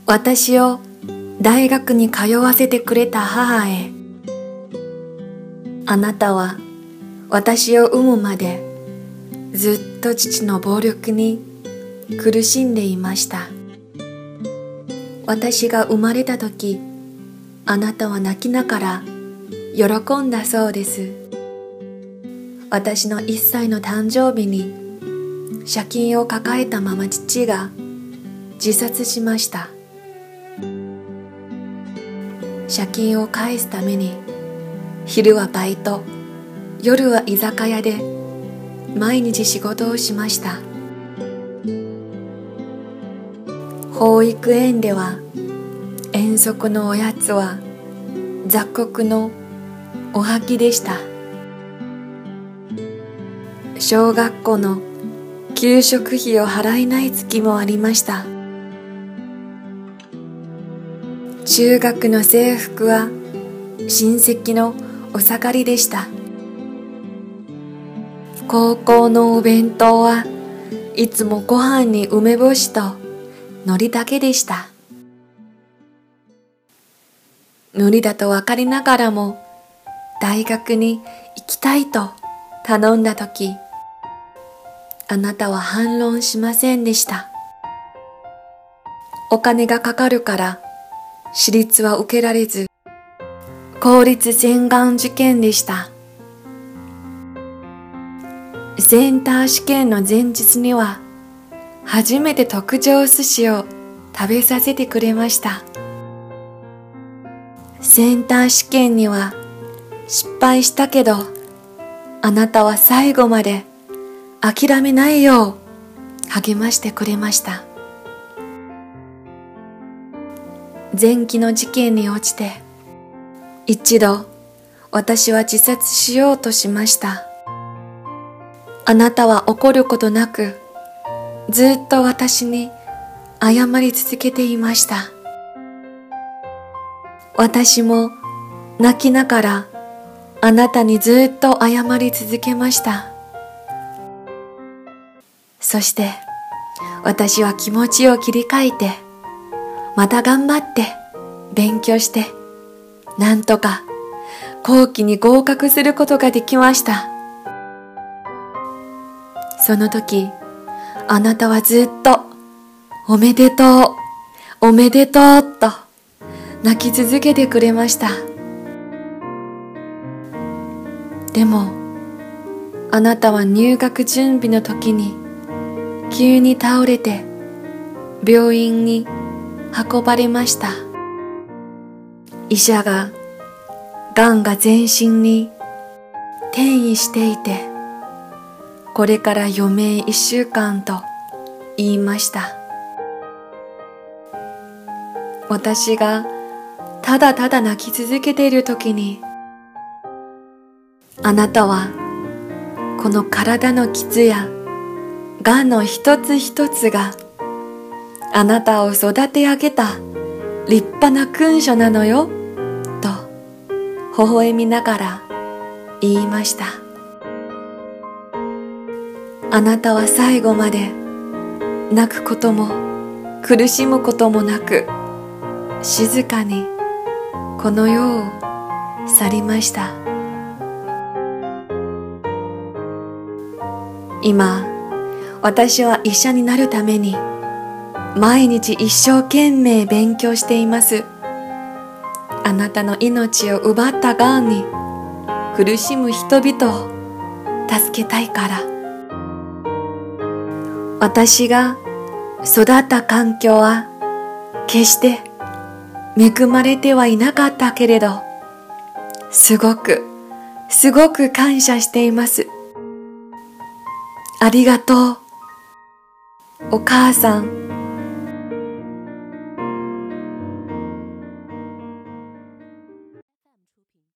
私を大学に通わせてくれた母へ、あなたは私を産むまでずっと父の暴力に苦しんでいました。私が生まれた時、あなたは泣きながら喜んだそうです。私の1歳の誕生日に借金を抱えたまま父が自殺しました。借金を返すために昼はバイト、夜は居酒屋で毎日仕事をしました。保育園では遠足のおやつは雑穀のおはぎでした。小学校の給食費を払えない月もありました。中学の制服は親戚のお下がりでした。高校のお弁当はいつもご飯に梅干しと海苔だけでした。無理だと分かりながらも大学に行きたいと頼んだとき、あなたは反論しませんでした。お金がかかるから私立は受けられず、公立専願受験でした。センター試験の前日には初めて特上寿司を食べさせてくれました。センター試験には失敗したけど、あなたは最後まで諦めないよう励ましてくれました。前期の事件に落ちて、一度私は自殺しようとしました。あなたは怒ることなく、ずっと私に謝り続けていました。私も泣きながらあなたにずっと謝り続けました。そして私は気持ちを切り替えて、また頑張って勉強して、なんとか後期に合格することができました。その時、あなたはずっとおめでとう、おめでとうと泣き続けてくれました。でも、あなたは入学準備の時に急に倒れて病院に運ばれました。医者ががんが全身に転移していて、これから余命1週間と言いました。私がただただ泣き続けている時に、あなたはこの体の傷やがんの一つ一つがあなたを育て上げた立派な勲章なのよと微笑みながら言いました。あなたは最後まで泣くことも苦しむこともなく、静かにこの世を去りました。今、私は医者になるために毎日一生懸命勉強しています。あなたの命を奪ったがんに苦しむ人々を助けたいから。私が育った環境は決して恵まれてはいなかったけれど、すごく感謝しています。ありがとう。お母さん、